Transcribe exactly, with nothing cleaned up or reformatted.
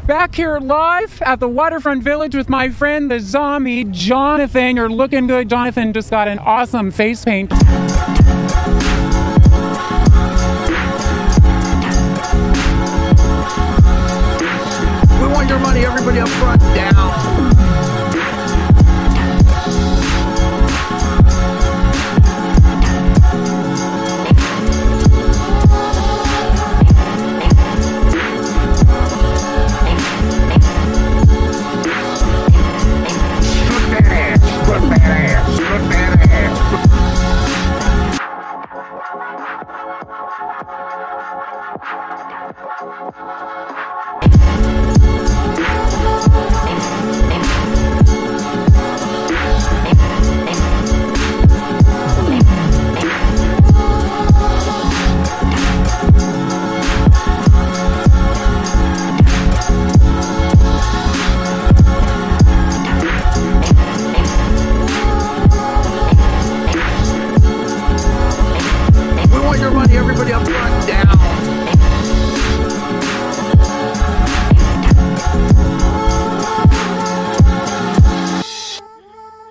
Back here live at the Waterfront Village with my friend, the zombie, Jonathan. You're looking good. Jonathan just got an awesome face paint. We want your money, everybody up front, down.